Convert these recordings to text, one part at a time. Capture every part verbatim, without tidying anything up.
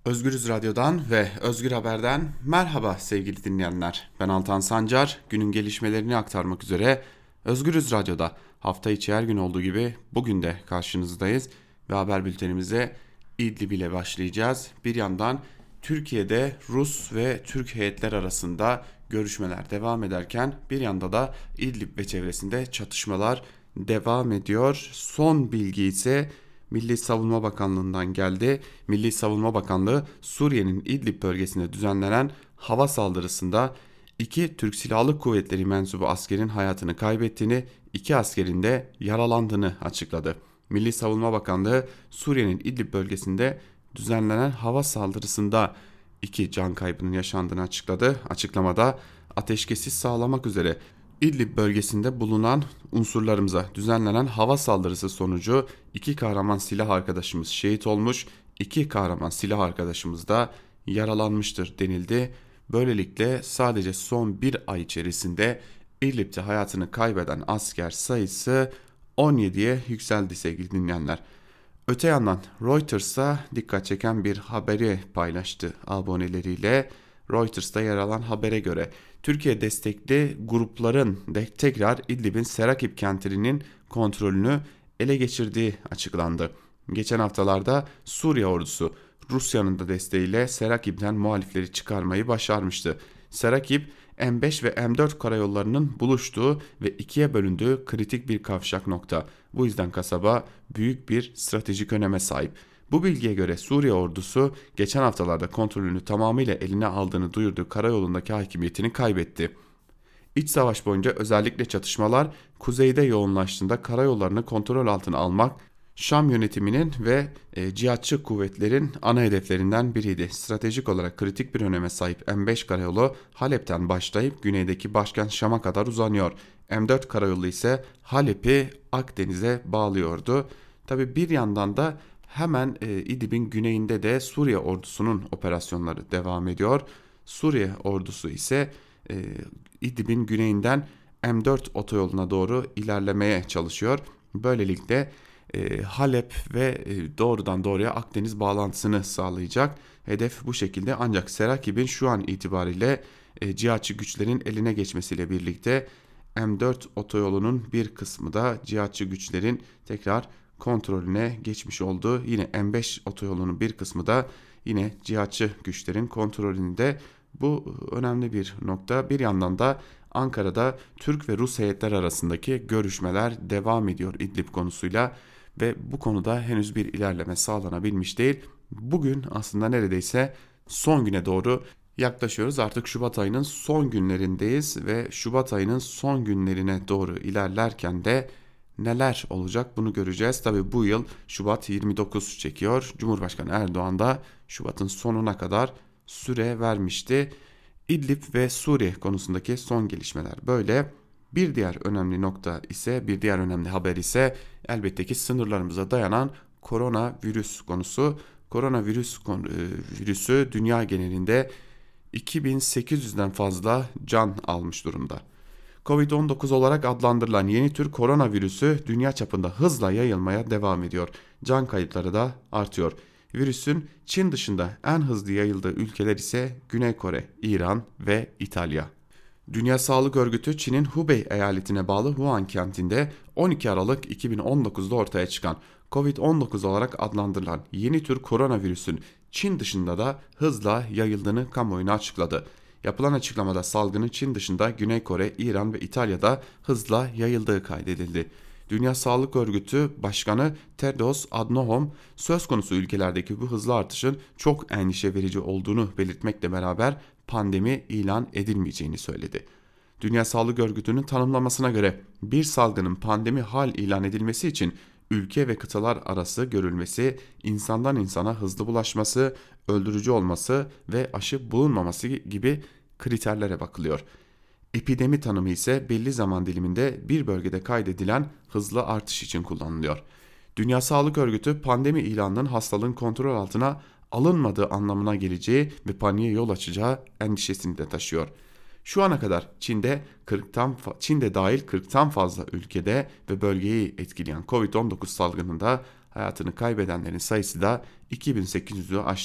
Özgürüz Radyo'dan ve Özgür Haber'den merhaba sevgili dinleyenler. Ben Altan Sancar, günün gelişmelerini aktarmak üzere Özgürüz Radyo'da hafta içi her gün olduğu gibi bugün de karşınızdayız ve haber bültenimize İdlib ile başlayacağız. Bir yandan Türkiye'de Rus ve Türk heyetler arasında görüşmeler devam ederken bir yanda da İdlib ve çevresinde çatışmalar devam ediyor. Son bilgi ise Milli Savunma Bakanlığı'ndan geldi. Milli Savunma Bakanlığı Suriye'nin İdlib bölgesinde düzenlenen hava saldırısında iki Türk Silahlı Kuvvetleri mensubu askerin hayatını kaybettiğini, iki askerin de yaralandığını açıkladı. Milli Savunma Bakanlığı Suriye'nin İdlib bölgesinde düzenlenen hava saldırısında iki can kaybının yaşandığını açıkladı. Açıklamada ateşkesi sağlamak üzere İdlib bölgesinde bulunan unsurlarımıza düzenlenen hava saldırısı sonucu iki kahraman silah arkadaşımız şehit olmuş, iki kahraman silah arkadaşımız da yaralanmıştır denildi. Böylelikle sadece son bir ay içerisinde İdlib'de hayatını kaybeden asker sayısı on yediye yükseldi sevgili dinleyenler. Öte yandan Reuters'a dikkat çeken bir haberi paylaştı aboneleriyle. Reuters'ta yer alan habere göre Türkiye destekli grupların de tekrar İdlib'in Serakip kentinin kontrolünü ele geçirdiği açıklandı. Geçen haftalarda Suriye ordusu Rusya'nın da desteğiyle Serakip'ten muhalifleri çıkarmayı başarmıştı. Serakip, M beş ve M dört karayollarının buluştuğu ve ikiye bölündüğü kritik bir kavşak nokta. Bu yüzden kasaba büyük bir stratejik öneme sahip. Bu bilgiye göre Suriye ordusu geçen haftalarda kontrolünü tamamıyla eline aldığını duyurduğu karayolundaki hakimiyetini kaybetti. İç savaş boyunca özellikle çatışmalar kuzeyde yoğunlaştığında karayollarını kontrol altına almak Şam yönetiminin ve e, cihatçı kuvvetlerin ana hedeflerinden biriydi. Stratejik olarak kritik bir öneme sahip M beş karayolu Halep'ten başlayıp güneydeki başkent Şam'a kadar uzanıyor. M dört karayolu ise Halep'i Akdeniz'e bağlıyordu. Tabi bir yandan da hemen e, İdlib'in güneyinde de Suriye ordusunun operasyonları devam ediyor. Suriye ordusu ise e, İdlib'in güneyinden M dört otoyoluna doğru ilerlemeye çalışıyor. Böylelikle e, Halep ve e, doğrudan doğruya Akdeniz bağlantısını sağlayacak. Hedef bu şekilde, ancak Serakib'in şu an itibariyle e, cihatçı güçlerin eline geçmesiyle birlikte M dört otoyolunun bir kısmı da cihatçı güçlerin tekrar kontrolüne geçmiş oldu. Yine M beş otoyolunun bir kısmı da yine cihatçı güçlerin kontrolünde. Bu önemli bir nokta. Bir yandan da Ankara'da Türk ve Rus heyetler arasındaki görüşmeler devam ediyor İdlib konusuyla ve bu konuda henüz bir ilerleme sağlanabilmiş değil. Bugün aslında neredeyse son güne doğru yaklaşıyoruz. Artık Şubat ayının son günlerindeyiz ve Şubat ayının son günlerine doğru ilerlerken de neler olacak bunu göreceğiz. Tabii bu yıl Şubat yirmi dokuz çekiyor. Cumhurbaşkanı Erdoğan da Şubat'ın sonuna kadar süre vermişti. İdlib ve Suriye konusundaki son gelişmeler böyle. Bir diğer önemli nokta ise, bir diğer önemli haber ise elbette ki sınırlarımıza dayanan koronavirüs konusu. Koronavirüs konu, e, virüsü dünya genelinde iki bin sekiz yüzden fazla can almış durumda. Covid on dokuz olarak adlandırılan yeni tür koronavirüsü dünya çapında hızla yayılmaya devam ediyor. Can kayıpları da artıyor. Virüsün Çin dışında en hızlı yayıldığı ülkeler ise Güney Kore, İran ve İtalya. Dünya Sağlık Örgütü Çin'in Hubei eyaletine bağlı Wuhan kentinde on iki Aralık iki bin on dokuzda ortaya çıkan Covid on dokuz olarak adlandırılan yeni tür koronavirüsün Çin dışında da hızla yayıldığını kamuoyuna açıkladı. Yapılan açıklamada salgının Çin dışında Güney Kore, İran ve İtalya'da hızla yayıldığı kaydedildi. Dünya Sağlık Örgütü Başkanı Tedros Adhanom söz konusu ülkelerdeki bu hızlı artışın çok endişe verici olduğunu belirtmekle beraber pandemi ilan edilmeyeceğini söyledi. Dünya Sağlık Örgütü'nün tanımlamasına göre bir salgının pandemi hal ilan edilmesi için ülke ve kıtalar arası görülmesi, insandan insana hızlı bulaşması, öldürücü olması ve aşı bulunmaması gibi kriterlere bakılıyor. Epidemi tanımı ise belli zaman diliminde bir bölgede kaydedilen hızlı artış için kullanılıyor. Dünya Sağlık Örgütü pandemi ilanının hastalığın kontrol altına alınmadığı anlamına geleceği ve paniğe yol açacağı endişesini de taşıyor. Şu ana kadar Çin'de kırktan Çin'de dahil kırktan fazla ülkede ve bölgeyi etkileyen Covid on dokuz salgınında hayatını kaybedenlerin sayısı da iki bin sekiz yüzü aştı.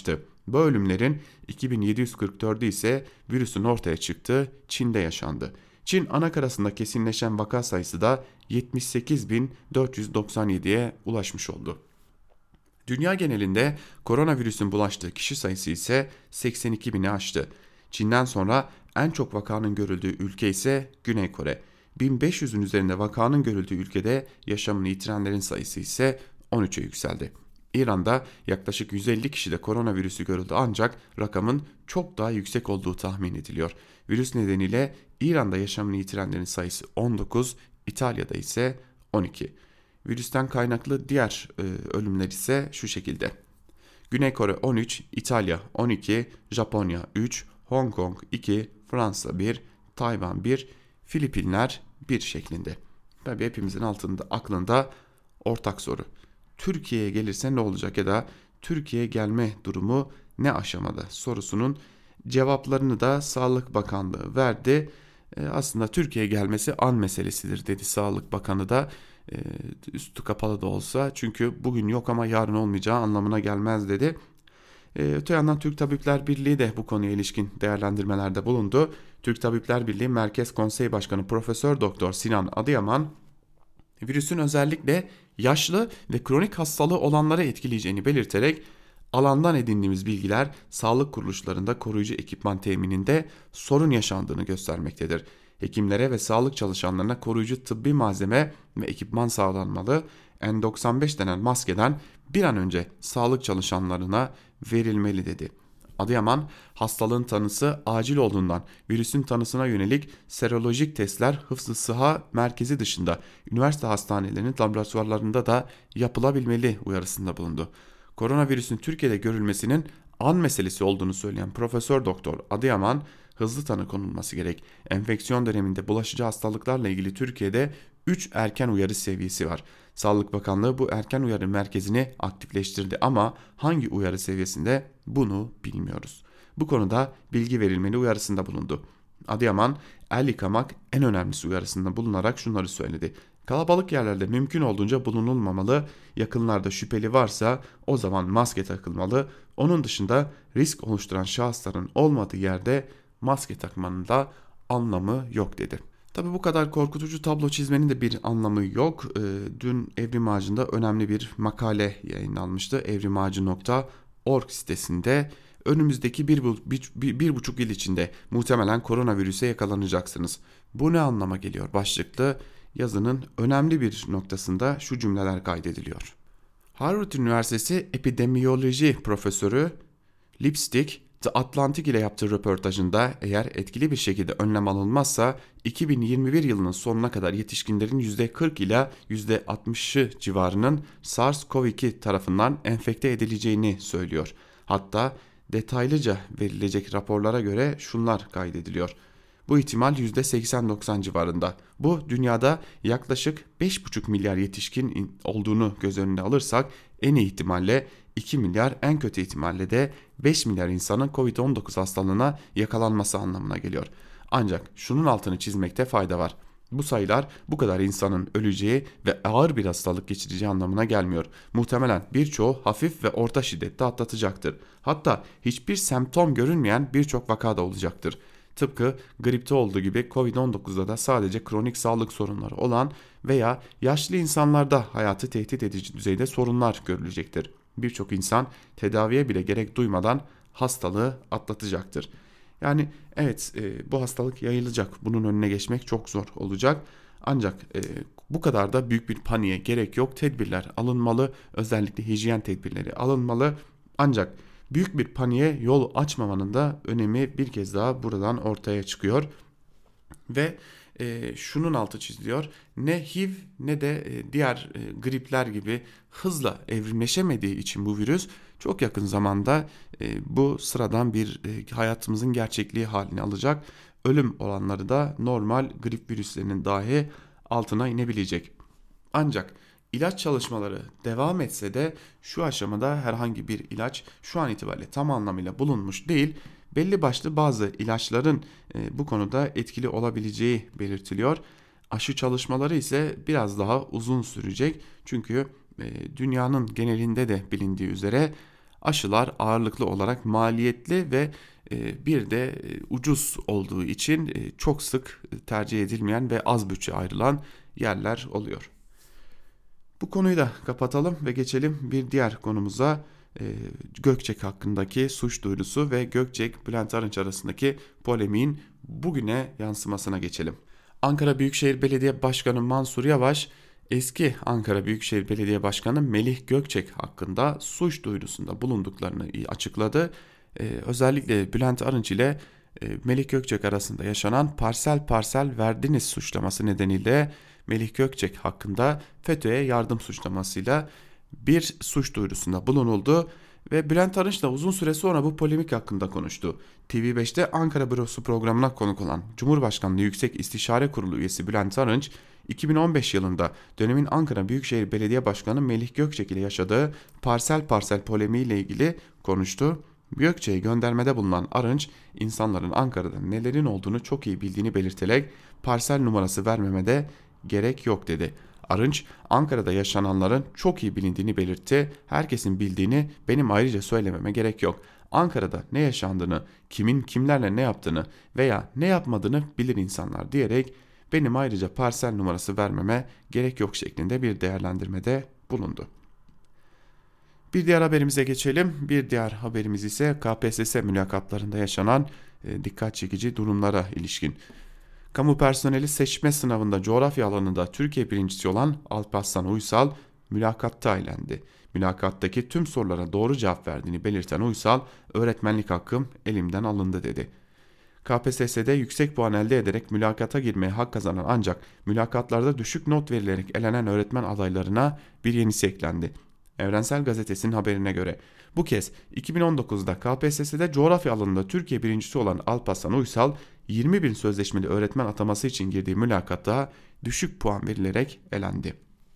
Bu ölümlerin iki bin yedi yüz kırk dördü ise virüsün ortaya çıktığı Çin'de yaşandı. Çin anakarasında kesinleşen vaka sayısı da yetmiş sekiz bin dört yüz doksan yediye ulaşmış oldu. Dünya genelinde koronavirüsün bulaştığı kişi sayısı ise seksen iki bini aştı. Çin'den sonra en çok vakanın görüldüğü ülke ise Güney Kore. bin beş yüzün üzerinde vakanın görüldüğü ülkede yaşamını yitirenlerin sayısı ise on üçe yükseldi. İran'da yaklaşık yüz elli kişide koronavirüsü görüldü ancak rakamın çok daha yüksek olduğu tahmin ediliyor. Virüs nedeniyle İran'da yaşamını yitirenlerin sayısı on dokuz, İtalya'da ise on iki. Virüsten kaynaklı diğer e, ölümler ise şu şekilde. Güney Kore on üç, İtalya on iki, Japonya üç, Hong Kong iki, Fransa bir, Tayvan bir, Filipinler bir şeklinde. Tabii hepimizin altında aklında ortak soru. Türkiye'ye gelirse ne olacak ya da Türkiye'ye gelme durumu ne aşamada sorusunun cevaplarını da Sağlık Bakanlığı verdi. E, aslında Türkiye'ye gelmesi an meselesidir dedi Sağlık Bakanı da. E, üstü kapalı da olsa çünkü bugün yok ama yarın olmayacağı anlamına gelmez dedi. E, öte yandan Türk Tabipler Birliği de bu konuya ilişkin değerlendirmelerde bulundu. Türk Tabipler Birliği Merkez Konsey Başkanı Profesör Doktor Sinan Adıyaman virüsün özellikle yaşlı ve kronik hastalığı olanlara etkileyeceğini belirterek alandan edindiğimiz bilgiler sağlık kuruluşlarında koruyucu ekipman temininde sorun yaşandığını göstermektedir. Hekimlere ve sağlık çalışanlarına koruyucu tıbbi malzeme ve ekipman sağlanmalı. N doksan beş denen maskeden bir an önce sağlık çalışanlarına verilmeli dedi. Adıyaman, hastalığın tanısı acil olduğundan virüsün tanısına yönelik serolojik testler hıfzı sıha merkezi dışında üniversite hastanelerinin laboratuvarlarında da yapılabilmeli uyarısında bulundu. Koronavirüsün Türkiye'de görülmesinin an meselesi olduğunu söyleyen Profesör Doktor Adıyaman, hızlı tanı konulması gerek. Enfeksiyon döneminde bulaşıcı hastalıklarla ilgili Türkiye'de üç erken uyarı seviyesi var. Sağlık Bakanlığı bu erken uyarı merkezini aktifleştirdi ama hangi uyarı seviyesinde bunu bilmiyoruz. Bu konuda bilgi verilmeli uyarısında bulundu. Adıyaman, el yıkamak en önemlisi uyarısında bulunarak şunları söyledi. Kalabalık yerlerde mümkün olduğunca bulunulmamalı, yakınlarda şüpheli varsa o zaman maske takılmalı, onun dışında risk oluşturan şahısların olmadığı yerde maske takmanın da anlamı yok dedi. Tabi bu kadar korkutucu tablo çizmenin de bir anlamı yok. E, dün Evrim Ağacı'nda önemli bir makale yayınlanmıştı. evrimağacı nokta org sitesinde önümüzdeki bir, bir, bir, bir buçuk yıl içinde muhtemelen koronavirüse yakalanacaksınız. Bu ne anlama geliyor başlıklı yazının önemli bir noktasında şu cümleler kaydediliyor. Harvard Üniversitesi Epidemiyoloji Profesörü Lipstick, The Atlantic ile yaptığı röportajında eğer etkili bir şekilde önlem alınmazsa iki bin yirmi bir yılının sonuna kadar yetişkinlerin yüzde kırk ila yüzde altmışı civarının SARS-CoV iki tarafından enfekte edileceğini söylüyor. Hatta detaylıca verilecek raporlara göre şunlar kaydediliyor. Bu ihtimal yüzde seksen doksan civarında. Bu dünyada yaklaşık beş buçuk milyar yetişkin olduğunu göz önüne alırsak en iyi ihtimalle iki milyar, en kötü ihtimalle de beş milyar insanın kovid on dokuz hastalığına yakalanması anlamına geliyor. Ancak şunun altını çizmekte fayda var. Bu sayılar bu kadar insanın öleceği ve ağır bir hastalık geçireceği anlamına gelmiyor. Muhtemelen birçoğu hafif ve orta şiddette atlatacaktır. Hatta hiçbir semptom görünmeyen birçok vaka da olacaktır. Tıpkı gripte olduğu gibi kovid on dokuzda da sadece kronik sağlık sorunları olan veya yaşlı insanlarda hayatı tehdit edici düzeyde sorunlar görülecektir. Birçok insan tedaviye bile gerek duymadan hastalığı atlatacaktır. Yani evet e, bu hastalık yayılacak. Bunun önüne geçmek çok zor olacak. Ancak e, bu kadar da büyük bir paniğe gerek yok. Tedbirler alınmalı. Özellikle hijyen tedbirleri alınmalı. Ancak büyük bir paniğe yol açmamanın da önemi bir kez daha buradan ortaya çıkıyor. Ve e, şunun altı çiziliyor. Ne H I V ne de e, diğer e, gripler gibi hızla evrimleşemediği için bu virüs çok yakın zamanda e, bu sıradan bir e, hayatımızın gerçekliği halini alacak. Ölüm oranları da normal grip virüslerinin dahi altına inebilecek. Ancak ilaç çalışmaları devam etse de şu aşamada herhangi bir ilaç şu an itibariyle tam anlamıyla bulunmuş değil. Belli başlı bazı ilaçların e, bu konuda etkili olabileceği belirtiliyor. Aşı çalışmaları ise biraz daha uzun sürecek. Çünkü e, dünyanın genelinde de bilindiği üzere Aşılar ağırlıklı olarak maliyetli ve e, bir de e, ucuz olduğu için e, çok sık tercih edilmeyen ve az bütçe ayrılan yerler oluyor. Bu konuyu da kapatalım ve geçelim bir diğer konumuza. E, Gökçek hakkındaki suç duyurusu ve Gökçek Bülent Arınç arasındaki polemiğin bugüne yansımasına geçelim. Ankara Büyükşehir Belediye Başkanı Mansur Yavaş, eski Ankara Büyükşehir Belediye Başkanı Melih Gökçek hakkında suç duyurusunda bulunduklarını açıkladı. Ee, özellikle Bülent Arınç ile e, Melih Gökçek arasında yaşanan parsel parsel verdiniz suçlaması nedeniyle Melih Gökçek hakkında FETÖ'ye yardım suçlamasıyla bir suç duyurusunda bulunuldu. Ve Bülent Arınç da uzun süre sonra bu polemik hakkında konuştu. T V beşte Ankara Bürosu programına konuk olan Cumhurbaşkanlığı Yüksek İstişare Kurulu üyesi Bülent Arınç, iki bin on beş yılında dönemin Ankara Büyükşehir Belediye Başkanı Melih Gökçek ile yaşadığı parsel parsel polemiği ile ilgili konuştu. Gökçek'e göndermede bulunan Arınç, insanların Ankara'da nelerin olduğunu çok iyi bildiğini belirterek parsel numarası vermeme de gerek yok dedi. Arınç, Ankara'da yaşananların çok iyi bilindiğini belirtti. Herkesin bildiğini benim ayrıca söylememe gerek yok. Ankara'da ne yaşandığını, kimin kimlerle ne yaptığını veya ne yapmadığını bilir insanlar diyerek benim ayrıca parsel numarası vermeme gerek yok şeklinde bir değerlendirmede bulundu. Bir diğer haberimize geçelim. Bir diğer haberimiz ise K P S S mülakatlarında yaşanan e, dikkat çekici durumlara ilişkin. Kamu personeli seçme sınavında coğrafya alanında Türkiye birincisi olan Alparslan Uysal mülakatta eğlendi. Mülakattaki tüm sorulara doğru cevap verdiğini belirten Uysal, öğretmenlik hakkım elimden alındı dedi. K P S S'de yüksek puan elde ederek mülakata girmeye hak kazanan ancak mülakatlarda düşük not verilerek elenen öğretmen adaylarına bir yenisi eklendi. Evrensel Gazetesi'nin haberine göre bu kez iki bin on dokuzda K P S S'de coğrafya alanında Türkiye birincisi olan Alparslan Uysal yirmi bin sözleşmeli öğretmen ataması için girdiği mülakatta düşük puan verilerek elendi.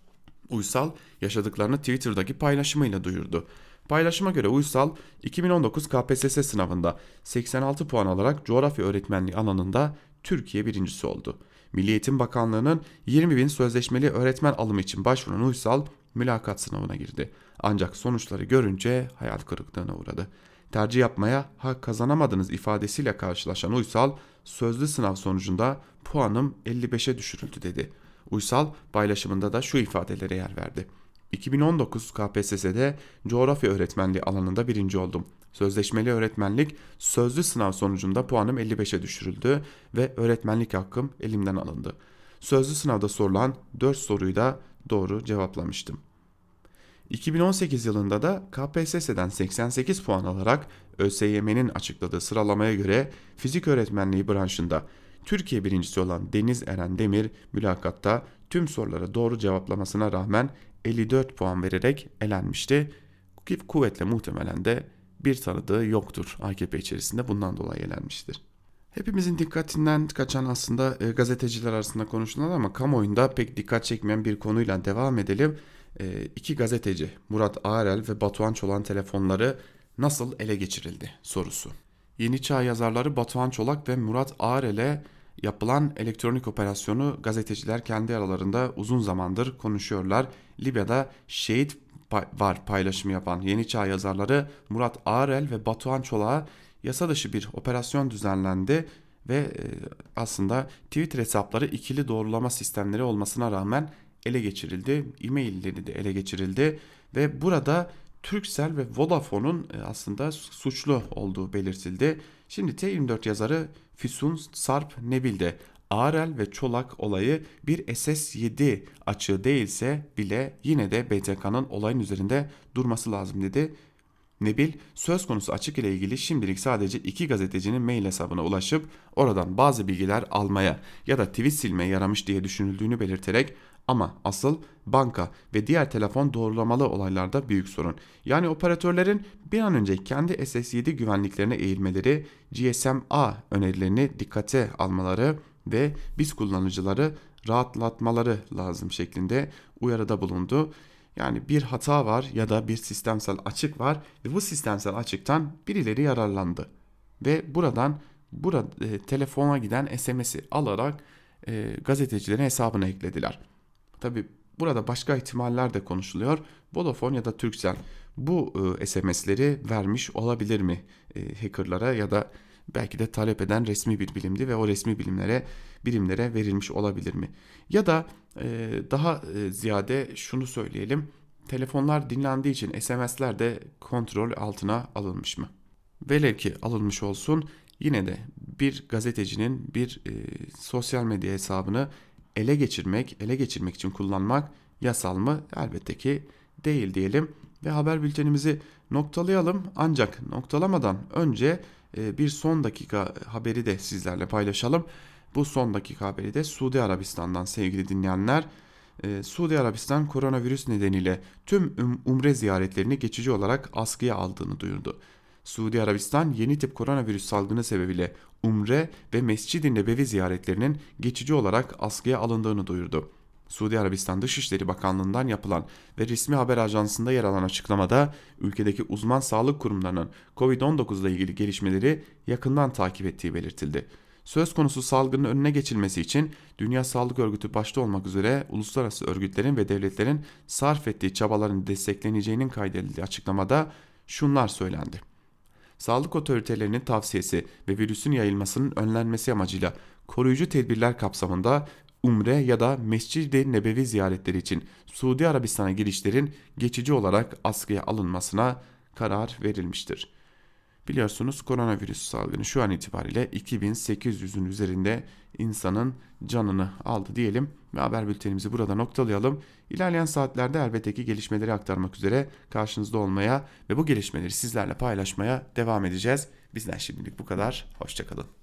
Uysal yaşadıklarını Twitter'daki paylaşımıyla duyurdu. Paylaşıma göre Uysal iki bin on dokuz K P S S sınavında seksen altı puan alarak coğrafya öğretmenliği alanında Türkiye birincisi oldu. Milli Eğitim Bakanlığı'nın yirmi bin sözleşmeli öğretmen alımı için başvuran Uysal mülakat sınavına girdi. Ancak sonuçları görünce hayal kırıklığına uğradı. Tercih yapmaya hak kazanamadınız ifadesiyle karşılaşan Uysal, sözlü sınav sonucunda puanım elli beşe düşürüldü dedi. Uysal paylaşımında da şu ifadelere yer verdi. iki bin on dokuz K P S S'de coğrafya öğretmenliği alanında birinci oldum. Sözleşmeli öğretmenlik sözlü sınav sonucunda puanım elli beşe düşürüldü ve öğretmenlik hakkım elimden alındı. Sözlü sınavda sorulan dört soruyu da doğru cevaplamıştım. iki bin on sekiz yılında da K P S S'den seksen sekiz puan alarak ÖSYM'nin açıkladığı sıralamaya göre fizik öğretmenliği branşında Türkiye birincisi olan Deniz Eren Demir mülakatta tüm sorulara doğru cevaplamasına rağmen elli dört puan vererek elenmişti. Kuvvetle muhtemelen de bir tanıdığı yoktur A K P içerisinde, bundan dolayı elenmiştir. Hepimizin dikkatinden kaçan aslında e, gazeteciler arasında konuşulan ama kamuoyunda pek dikkat çekmeyen bir konuyla devam edelim. E, iki gazeteci Murat Ağrel ve Batuhan Çolak'ın telefonları nasıl ele geçirildi sorusu. Yeni Çağ yazarları Batuhan Çolak ve Murat Ağrel'e yapılan elektronik operasyonu gazeteciler kendi aralarında uzun zamandır konuşuyorlar. Libya'da şehit var paylaşımı yapan Yeni Çağ yazarları Murat Ağrel ve Batuhan Çolak'a yasa dışı bir operasyon düzenlendi ve aslında Twitter hesapları ikili doğrulama sistemleri olmasına rağmen ele geçirildi. E-mailleri de ele geçirildi ve burada Turkcell ve Vodafone'un aslında suçlu olduğu belirtildi. Şimdi T yirmi dört yazarı Füsun Sarp Nebil de Ağrel ve Çolak olayı bir S S yedi açığı değilse bile yine de B T K'nın olayın üzerinde durması lazım dedi. Nebil, söz konusu açık ile ilgili şimdilik sadece iki gazetecinin mail hesabına ulaşıp oradan bazı bilgiler almaya ya da tweet silmeye yaramış diye düşünüldüğünü belirterek ama asıl banka ve diğer telefon doğrulamalı olaylarda büyük sorun. Yani operatörlerin bir an önce kendi S S yedi güvenliklerine eğilmeleri, G S M A önerilerini dikkate almaları ve biz kullanıcıları rahatlatmaları lazım şeklinde uyarıda bulundu. Yani bir hata var ya da bir sistemsel açık var ve bu sistemsel açıktan birileri yararlandı. Ve buradan burada e, telefona giden S M S'i alarak e, gazetecilerin hesabına eklediler. Tabi burada başka ihtimaller de konuşuluyor. Vodafone ya da Turkcell bu e, S M S'leri vermiş olabilir mi e, hackerlara ya da belki de talep eden resmi bir bilimdi ve o resmi bilimlere birimlere verilmiş olabilir mi? Ya da e, daha e, ziyade şunu söyleyelim. Telefonlar dinlendiği için S M S'ler de kontrol altına alınmış mı? Velev ki alınmış olsun, yine de bir gazetecinin bir e, sosyal medya hesabını ele geçirmek, ele geçirmek için kullanmak yasal mı? Elbette ki değil diyelim ve haber bültenimizi noktalayalım. Ancak noktalamadan önce e, bir son dakika haberi de sizlerle paylaşalım. Bu son dakika haberi de Suudi Arabistan'dan sevgili dinleyenler. Ee, Suudi Arabistan koronavirüs nedeniyle tüm um- umre ziyaretlerini geçici olarak askıya aldığını duyurdu. Suudi Arabistan yeni tip koronavirüs salgını sebebiyle umre ve Mescid-i Nebevi ziyaretlerinin geçici olarak askıya alındığını duyurdu. Suudi Arabistan Dışişleri Bakanlığı'ndan yapılan ve resmi haber ajansında yer alan açıklamada ülkedeki uzman sağlık kurumlarının covid on dokuz ile ilgili gelişmeleri yakından takip ettiği belirtildi. Söz konusu salgının önüne geçilmesi için Dünya Sağlık Örgütü başta olmak üzere uluslararası örgütlerin ve devletlerin sarf ettiği çabaların destekleneceğinin kaydedildiği açıklamada şunlar söylendi. Sağlık otoritelerinin tavsiyesi ve virüsün yayılmasının önlenmesi amacıyla koruyucu tedbirler kapsamında umre ya da Mescid-i Nebevi ziyaretleri için Suudi Arabistan'a girişlerin geçici olarak askıya alınmasına karar verilmiştir. Biliyorsunuz koronavirüs salgını şu an itibariyle iki bin sekiz yüzün üzerinde insanın canını aldı diyelim ve haber bültenimizi burada noktalayalım. İlerleyen saatlerde elbette ki gelişmeleri aktarmak üzere karşınızda olmaya ve bu gelişmeleri sizlerle paylaşmaya devam edeceğiz. Bizden şimdilik bu kadar. Hoşça kalın.